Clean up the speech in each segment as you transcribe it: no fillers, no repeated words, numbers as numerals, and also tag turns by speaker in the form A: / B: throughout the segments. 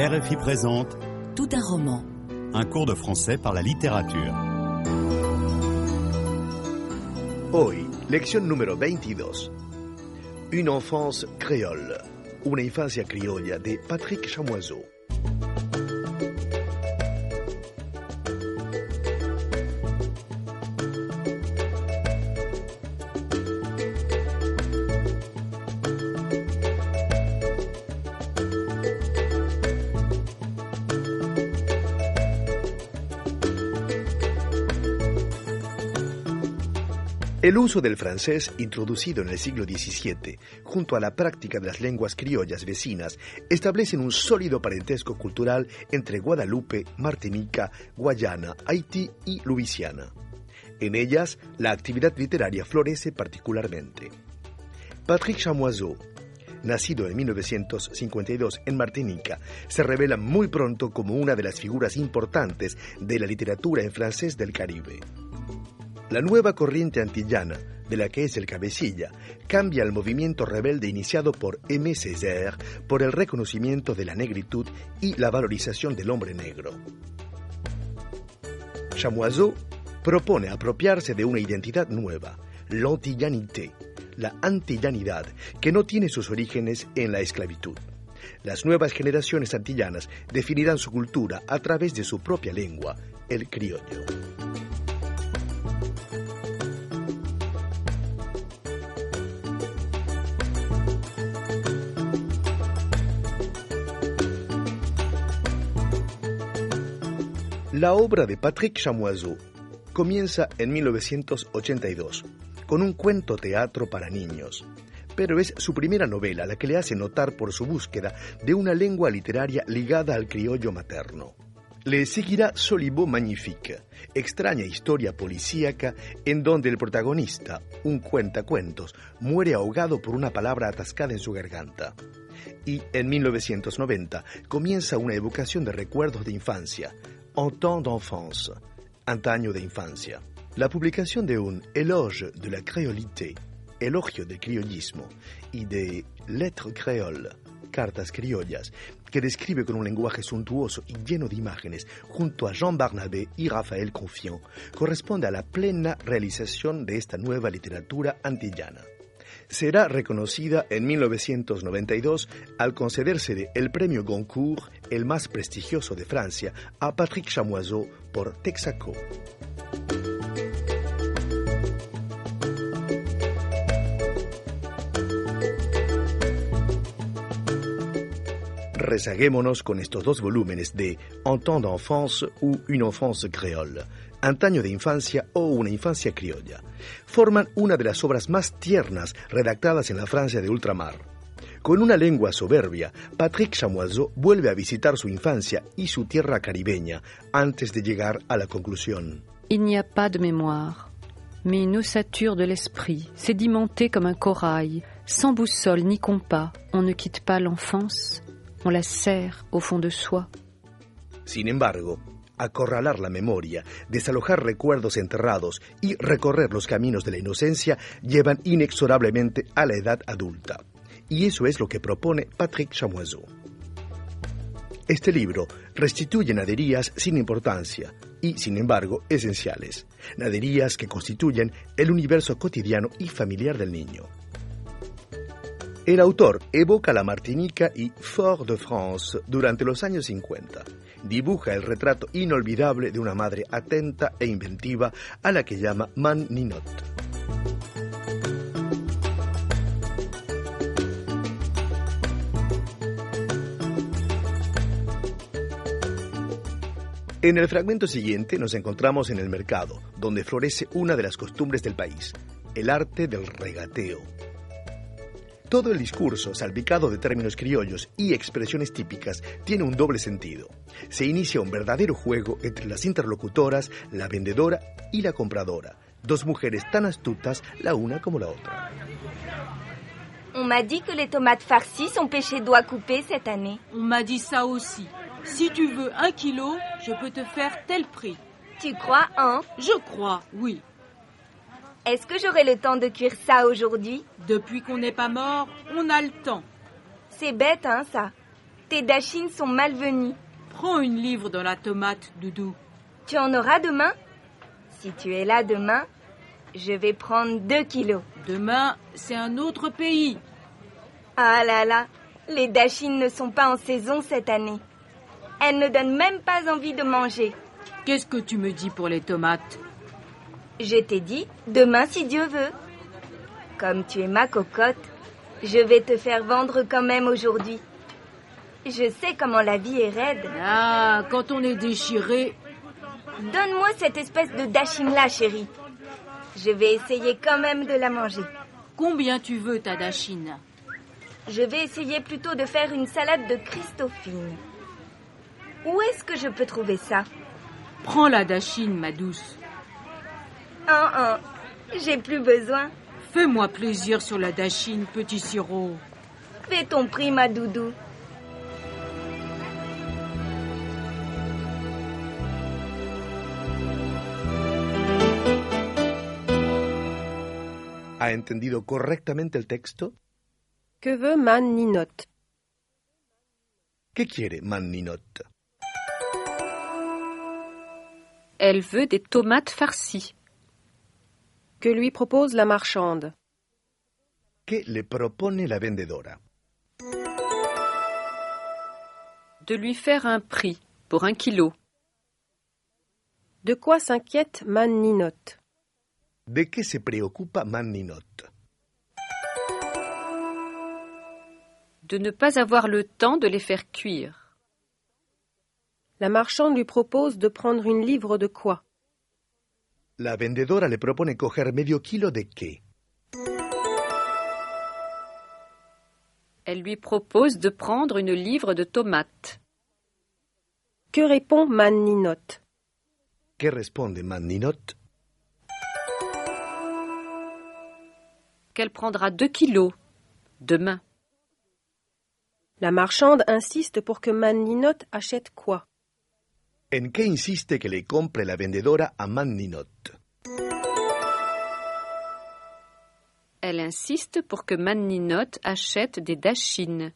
A: RFI présente
B: Tout un roman.
A: Un cours de français par la littérature.
C: Hoy, lección número 22. Une enfance créole. Una infancia criolla de Patrick Chamoiseau. El uso del francés, introducido en el siglo XVII, junto a la práctica de las lenguas criollas vecinas, establecen un sólido parentesco cultural entre Guadalupe, Martinica, Guayana, Haití y Luisiana. En ellas, la actividad literaria florece particularmente. Patrick Chamoiseau, nacido en 1952 en Martinica, se revela muy pronto como una de las figuras importantes de la literatura en francés del Caribe. La nueva corriente antillana, de la que es el cabecilla, cambia el movimiento rebelde iniciado por Aimé Césaire por el reconocimiento de la negritud y la valorización del hombre negro. Chamoiseau propone apropiarse de una identidad nueva, l'antillanité, la antillanidad, que no tiene sus orígenes en la esclavitud. Las nuevas generaciones antillanas definirán su cultura a través de su propia lengua, el criollo. La obra de Patrick Chamoiseau comienza en 1982 con un cuento teatro para niños, pero es su primera novela la que le hace notar por su búsqueda de una lengua literaria ligada al criollo materno. Le seguirá Solibo Magnifique, extraña historia policíaca en donde el protagonista, un cuentacuentos, muere ahogado por una palabra atascada en su garganta. Y en 1990 comienza una evocación de recuerdos de infancia, En temps d'enfance, antaño de infancia. La publicación de un Éloge de la créolité, elogio del criollismo, y de Lettres créoles, cartas criollas, que describe con un lenguaje suntuoso y lleno de imágenes, junto a Jean Barnabé y Raphaël Confiant, corresponde a la plena realización de esta nueva literatura antillana. Será reconocida en 1992 al concedérsele el premio Goncourt, el más prestigioso de Francia, a Patrick Chamoiseau por Texaco. Rezaguémonos con estos dos volúmenes de En temps d'enfance ou Une enfance créole, antaño de infancia o una infancia criolla. Forman una de las obras más tiernas redactadas en la Francia de ultramar. Con una lengua soberbia, Patrick Chamoiseau vuelve a visitar su infancia y su tierra caribeña antes de llegar a la conclusión.
D: Il n'y a pas de mémoire, mais une ossature de l'esprit, sédimentée comme un corail, sans boussole ni compas. On ne quitte pas l'enfance, on la serre au fond de soi.
C: Sin embargo, acorralar la memoria, desalojar recuerdos enterrados y recorrer los caminos de la inocencia llevan inexorablemente a la edad adulta. Y eso es lo que propone Patrick Chamoiseau. Este libro restituye naderías sin importancia y, sin embargo, esenciales. Naderías que constituyen el universo cotidiano y familiar del niño. El autor evoca la Martinica y Fort-de-France durante los años 50. Dibuja el retrato inolvidable de una madre atenta e inventiva a la que llama Man Ninot. En el fragmento siguiente nos encontramos en el mercado, donde florece una de las costumbres del país, el arte del regateo. Todo el discurso, salpicado de términos criollos y expresiones típicas, tiene un doble sentido. Se inicia un verdadero juego entre las interlocutoras, la vendedora y la compradora, dos mujeres tan astutas la una como la otra.
E: On m'a dit que les tomates farcies sont pêchées doigts coupés cette année.
F: On m'a dit ça aussi. Si tu veux 1 kilo, je peux te faire tel prix.
E: Tu crois, hein?
F: Je crois, oui.
E: Est-ce que j'aurai le temps de cuire ça aujourd'hui?
F: Depuis qu'on n'est pas mort, on a le temps.
E: C'est bête, hein, ça? tes dachines sont malvenues.
F: Prends une livre dans la tomate, Doudou.
E: Tu en auras demain? Si tu es là demain, je vais prendre 2 kilos.
F: Demain, c'est un autre pays.
E: Ah là là, les dachines ne sont pas en saison cette année. Elles ne donnent même pas envie de manger.
F: Qu'est-ce que tu me dis pour les tomates?
E: Je t'ai dit, demain si Dieu veut. Comme tu es ma cocotte, je vais te faire vendre quand même aujourd'hui. Je sais comment la vie est raide.
F: Ah, quand on est déchiré...
E: Donne-moi cette espèce de dachine-là, chérie. Je vais essayer quand même de la manger.
F: Combien tu veux ta dachine?
E: Je vais essayer plutôt de faire une salade de Christophine. Où est-ce que je peux trouver ça?
F: Prends la dachine, ma douce.
E: J'ai plus besoin.
F: Fais-moi plaisir sur la dachine, petit sirop.
E: Fais ton prix, ma doudou.
C: ¿Ha entendido correctamente el texto?
B: Que veut Man Ninot?
C: ¿Qué quiere Man Ninot?
D: Elle veut des tomates farcies.
B: Que lui propose la marchande?
C: ¿Qué le propone la vendedora?
D: De lui faire un prix pour 1 kilo.
B: De quoi s'inquiète Man Ninot?
C: ¿De qué se preocupa Man Ninot?
D: De ne pas avoir le temps de les faire cuire.
B: La marchande lui propose de prendre une livre de quoi?
C: La vendedora le propone coger medio kilo de qué?
D: Elle lui propose de prendre une livre de tomates.
B: Que répond Man Ninot?
C: ¿Qué responde Man Ninot?
D: Qu'elle prendra 2 kilos demain.
B: La marchande insiste pour que Man Ninot achète quoi?
C: ¿En qué insiste que le compre la vendedora a Man Ninot?
D: Elle insiste pour que Man Ninot achète des dachines.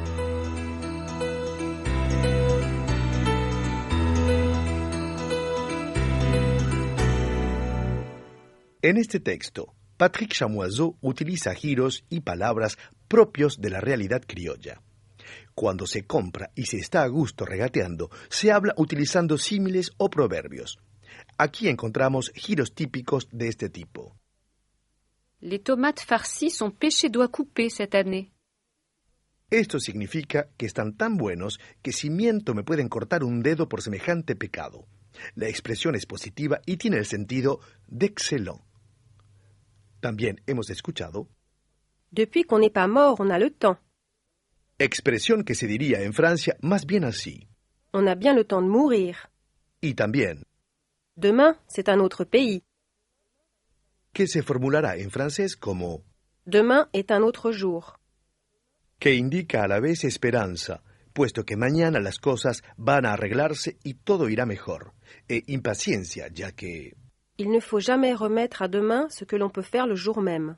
C: En este texto, Patrick Chamoiseau utiliza giros y palabras propios de la realidad criolla. Cuando se compra y se está a gusto regateando, se habla utilizando símiles o proverbios. Aquí encontramos giros típicos de este tipo.
D: Les tomates farcies sont pêchées doigts coupés cette année.
C: Esto significa que están tan buenos que si miento me pueden cortar un dedo por semejante pecado. La expresión es positiva y tiene el sentido d'excellent. También hemos escuchado
B: Depuis qu'on n'est pas mort, on a le temps.
C: expresión que se diría en Francia más bien así.
B: On a bien le temps de mourir.
C: Y también
B: Demain, c'est un autre pays.
C: que se formulará en francés como
B: Demain est un autre jour.
C: que indica a la vez esperanza, puesto que mañana las cosas van a arreglarse y todo irá mejor, e impaciencia, ya que
B: Il ne faut jamais remettre à demain ce que l'on peut faire le jour même.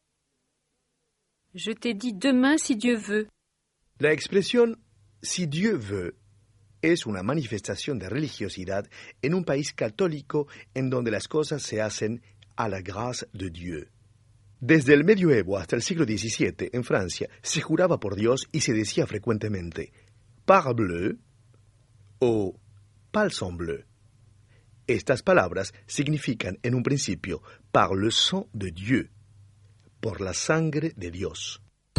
D: Je t'ai dit demain si Dieu veut.
C: la expresión si Dieu veut es una manifestación de religiosidad en un país católico en donde las cosas se hacen a la grâce de Dieu. Desde el medioevo hasta el siglo XVII, en Francia, se juraba por Dios y se decía frecuentemente parbleu o palsambleu. Estas palabras significan en un principio par le sang de Dieu, por la sangre de Dios.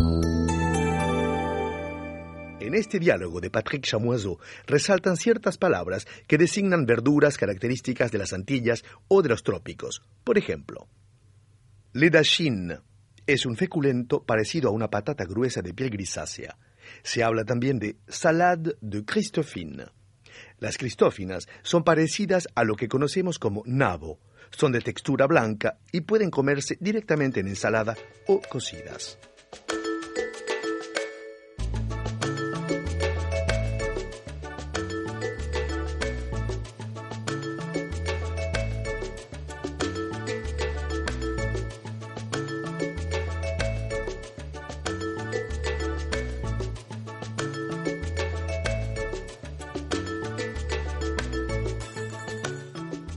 C: En este diálogo de Patrick Chamoiseau resaltan ciertas palabras que designan verduras características de las Antillas o de los trópicos. Por ejemplo, le dachine es un feculento parecido a una patata gruesa de piel grisácea. Se habla también de salade de Christophine. Las cristófinas son parecidas a lo que conocemos como nabo. Son de textura blanca y pueden comerse directamente en ensalada o cocidas.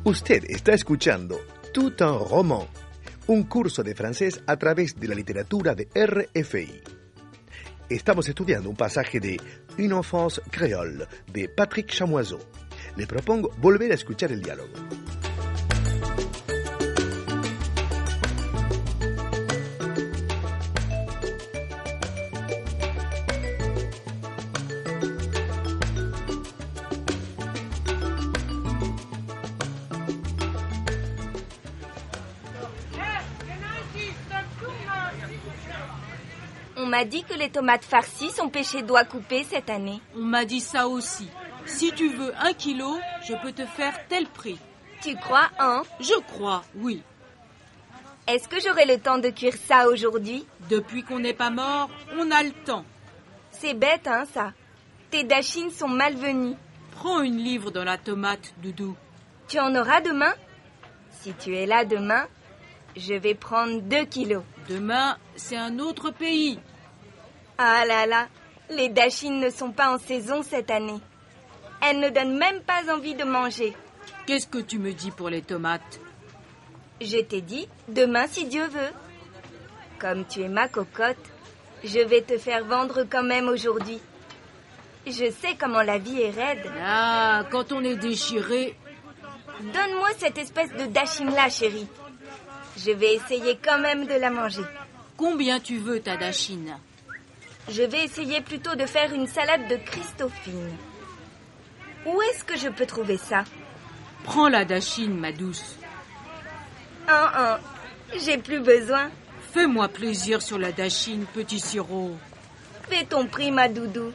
C: Usted está escuchando Tout un roman, un curso de francés a través de la literatura de RFI. Estamos estudiando un pasaje de Une enfance créole de Patrick Chamoiseau. Le propongo volver a escuchar el diálogo.
E: On m'a dit que les tomates farcies sont pêchées doigts coupés cette année.
F: On m'a dit ça aussi. Si tu veux 1 kilo, je peux te faire tel prix.
E: Tu crois, hein?
F: Je crois, oui.
E: Est-ce que j'aurai le temps de cuire ça aujourd'hui?
F: Depuis qu'on n'est pas mort, on a le temps.
E: C'est bête, hein, ça. Tes dachines sont malvenues.
F: Prends une livre dans la tomate, Doudou.
E: Tu en auras demain? Si tu es là demain, je vais prendre 2 kilos.
F: Demain, c'est un autre pays.
E: Ah là là, les dachines ne sont pas en saison cette année. Elles ne donnent même pas envie de manger.
F: Qu'est-ce que tu me dis pour les tomates?
E: Je t'ai dit, demain si Dieu veut. Comme tu es ma cocotte, je vais te faire vendre quand même aujourd'hui. Je sais comment la vie est raide.
F: Ah, quand on est déchiré...
E: Donne-moi cette espèce de dachine-là, chérie. Je vais essayer quand même de la manger.
F: Combien tu veux ta dachine?
E: Je vais essayer plutôt de faire une salade de Christophine. Où est-ce que je peux trouver ça?
F: Prends la dachine, ma douce.
E: J'ai plus besoin.
F: Fais-moi plaisir sur la dachine, petit sirop.
E: Fais ton prix, ma doudou.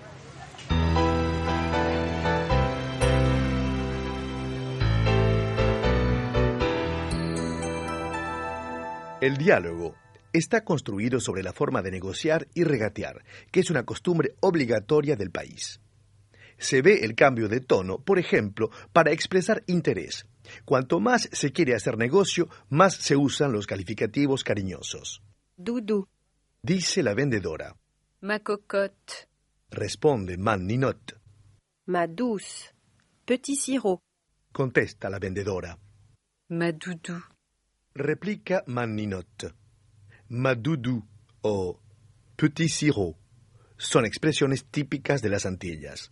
C: El diálogo está construido sobre la forma de negociar y regatear, que es una costumbre obligatoria del país. Se ve el cambio de tono, por ejemplo, para expresar interés. Cuanto más se quiere hacer negocio, más se usan los calificativos cariñosos.
B: Doudou,
C: Dice la vendedora.
D: Ma cocotte,
C: Responde Man Ninot.
B: ma douce, petit sirop,
C: Contesta la vendedora.
D: ma doudou,
C: Replica Man Ninot. Ma doudou o petit sirop son expresiones típicas de las Antillas.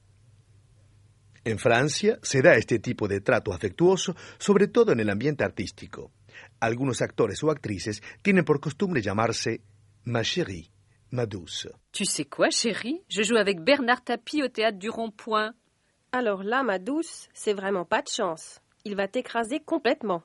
C: En Francia se da este tipo de trato afectuoso, sobre todo en el ambiente artístico. Algunos actores o actrices tienen por costumbre llamarse ma chérie, ma douce.
D: Tu sais quoi, chérie? Je joue avec Bernard Tapie au théâtre du Rond-Point.
B: Alors là, ma douce, c'est vraiment pas de chance. Il va t'écraser complètement.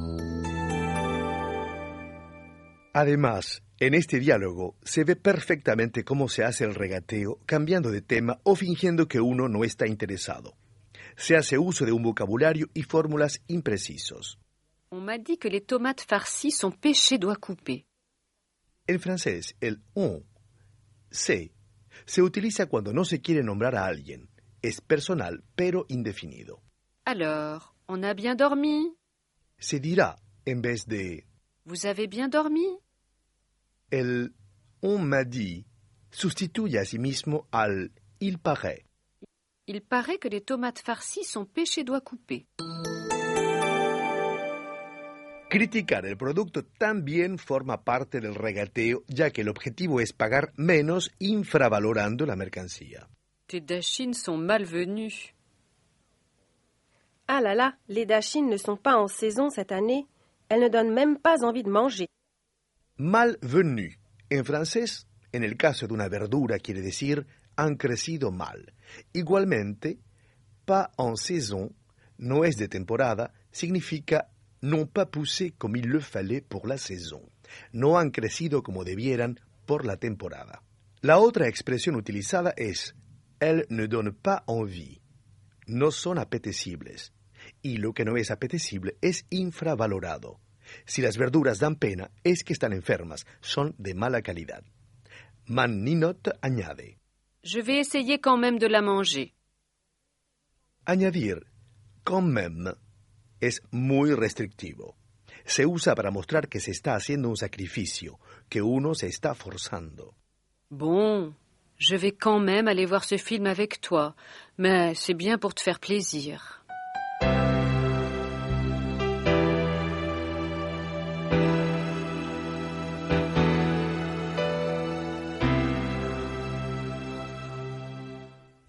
C: Además, en este diálogo se ve perfectamente cómo se hace el regateo, cambiando de tema o fingiendo que uno no está interesado. Se hace uso de un vocabulario y fórmulas imprecisos.
D: On m'a dit que les tomates farcies sont pêchées doigts coupés.
C: En francés, el on, se utiliza cuando no se quiere nombrar a alguien. Es personal, pero indefinido.
D: Alors, on a bien dormi?
C: Se dirá en vez de
D: Vous avez bien dormi?
C: el on m'a dit sustituye a sí mismo al il paraît.
D: Il paraît que les tomates farcies sont pêchées doigts coupés.
C: Criticar el producto también forma parte del regateo, ya que el objetivo es pagar menos infravalorando la mercancía.
D: Tes dachines sont malvenues.
B: Ah là là, les dachines ne sont pas en saison cette année. Elles ne donnent même pas envie de manger.
C: Malvenu. En francés, en el caso de una verdura, quiere decir han crecido mal. Igualmente, pas en saison, no es de temporada, significa n'ont pas poussé comme il le fallait pour la saison. No han crecido como debieran por la temporada. La otra expresión utilizada es elles ne donnent pas envie. No son apetecibles. Y lo que no es apetecible es infravalorado. Si las verduras dan pena, es que están enfermas, son de mala calidad. Man Ninot añade.
D: Je vais essayer quand même de la manger.
C: Añadir quand même es muy restrictivo. Se usa para mostrar que se está haciendo un sacrificio, que uno se está forzando.
D: Bon, je vais quand même aller voir ce film avec toi, mais c'est bien pour te faire plaisir.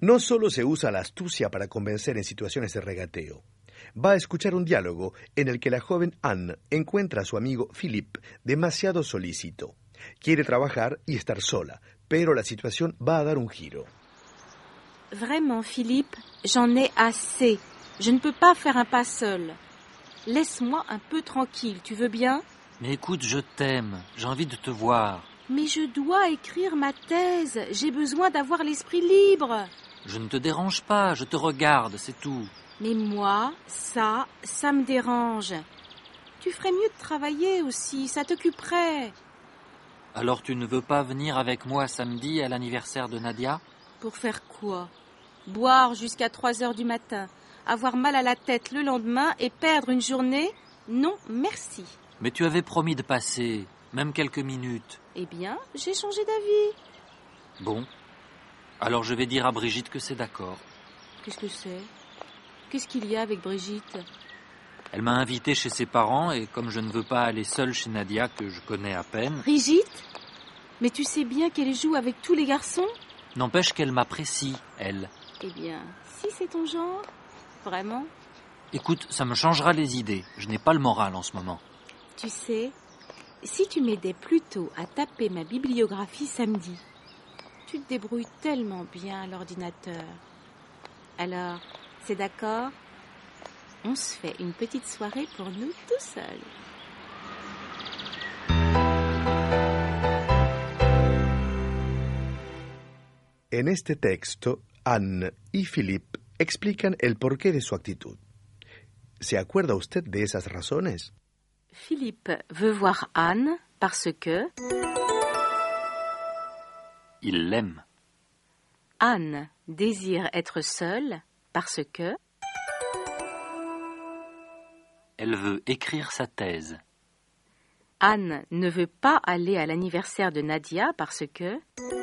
C: No solo se usa la astucia para convencer en situaciones de regateo. Va a escuchar un diálogo en el que la joven Anne encuentra a su amigo Philippe demasiado solícito. Quiere trabajar y estar sola, pero la situación va a dar un giro.
G: Vraiment, Philippe, j'en ai assez. Je ne peux pas faire un pas seul. Laisse-moi un peu tranquille, tu veux bien?
H: Mais écoute, je t'aime. J'ai envie de te voir.
G: Mais je dois écrire ma thèse. J'ai besoin d'avoir l'esprit libre.
H: Je ne te dérange pas, je te regarde, c'est tout.
G: Mais moi, ça me dérange. Tu ferais mieux de travailler aussi, ça t'occuperait.
H: Alors tu ne veux pas venir avec moi samedi à l'anniversaire de Nadia?
G: Pour faire quoi? Boire jusqu'à 3h du matin, avoir mal à la tête le lendemain et perdre une journée? Non, merci.
H: Mais tu avais promis de passer, même quelques minutes.
G: Eh bien, j'ai changé d'avis.
H: Bon, alors je vais dire à Brigitte que c'est d'accord.
G: Qu'est-ce que c'est? Qu'est-ce qu'il y a avec Brigitte?
H: Elle m'a invité chez ses parents et comme je ne veux pas aller seule chez Nadia, que je connais à peine...
G: Brigitte? Mais tu sais bien qu'elle joue avec tous les garçons?
H: N'empêche qu'elle m'apprécie, elle.
G: Eh bien, si c'est ton genre, vraiment?
H: Écoute, ça me changera les idées. Je n'ai pas le moral en ce moment.
G: Tu sais, si tu m'aidais plutôt à taper ma bibliographie samedi, tu te débrouilles tellement bien à l'ordinateur. Alors, c'est d'accord? On se fait une petite soirée pour nous tout seuls.
C: En este texto, Anne y Philippe explican el porqué de su actitud. ¿Se acuerda usted de esas razones?
G: Philippe veut voir Anne parce que...
H: Il l'aime.
G: Anne désire être seule parce que...
H: Elle veut écrire sa thèse.
G: Anne ne veut pas aller à l'anniversaire de Nadia parce que...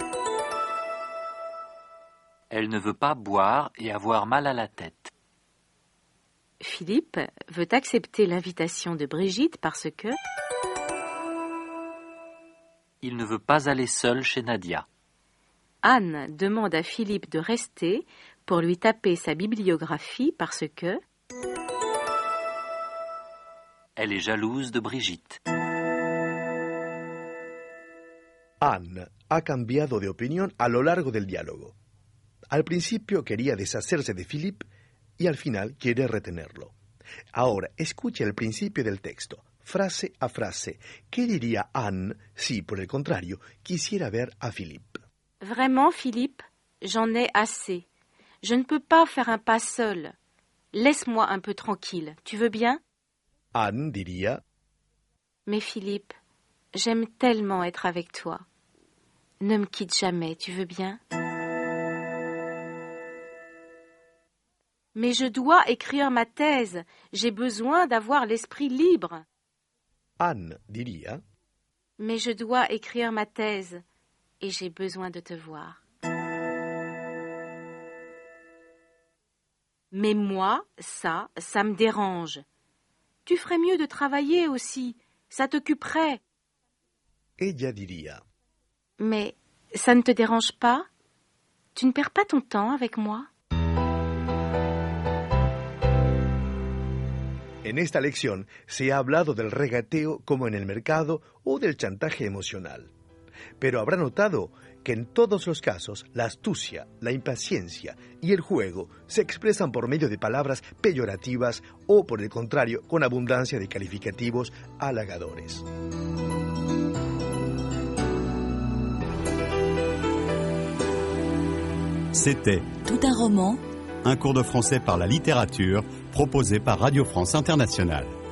H: Elle ne veut pas boire et avoir mal à la tête.
G: Philippe veut accepter l'invitation de Brigitte parce que...
H: Il ne veut pas aller seul chez Nadia.
G: Anne demande à Philippe de rester pour lui taper sa bibliographie parce que...
H: Elle est jalouse de Brigitte.
C: Anne ha cambiado de opinión a lo largo del diálogo. Al principio quería deshacerse de Philippe y al final quiere retenerlo. Ahora, escuche el principio del texto, frase a frase. ¿Qué diría Anne si, por el contrario, quisiera ver a Philippe?
G: Vraiment, Philippe, j'en ai assez. Je ne peux pas faire un pas seul. Laisse-moi un peu tranquille, tu veux bien?
C: Anne diría...
G: Mais Philippe, j'aime tellement être avec toi. Ne me quitte jamais, tu veux bien? Mais je dois écrire ma thèse. J'ai besoin d'avoir l'esprit libre.
C: Anne diría...
G: Mais je dois écrire ma thèse et j'ai besoin de te voir. Mais moi, ça me dérange. Tu ferais mieux de travailler aussi. Ça t'occuperait.
C: Ella diría...
G: Mais ça ne te dérange pas? Tu ne perds pas ton temps avec moi?
C: En esta lección se ha hablado del regateo como en el mercado o del chantaje emocional. Pero habrá notado que en todos los casos la astucia, la impaciencia y el juego se expresan por medio de palabras peyorativas o, por el contrario, con abundancia de calificativos halagadores.
A: C'était
I: Tout un roman,
A: un cours de français par la littérature proposé par Radio France Internationale.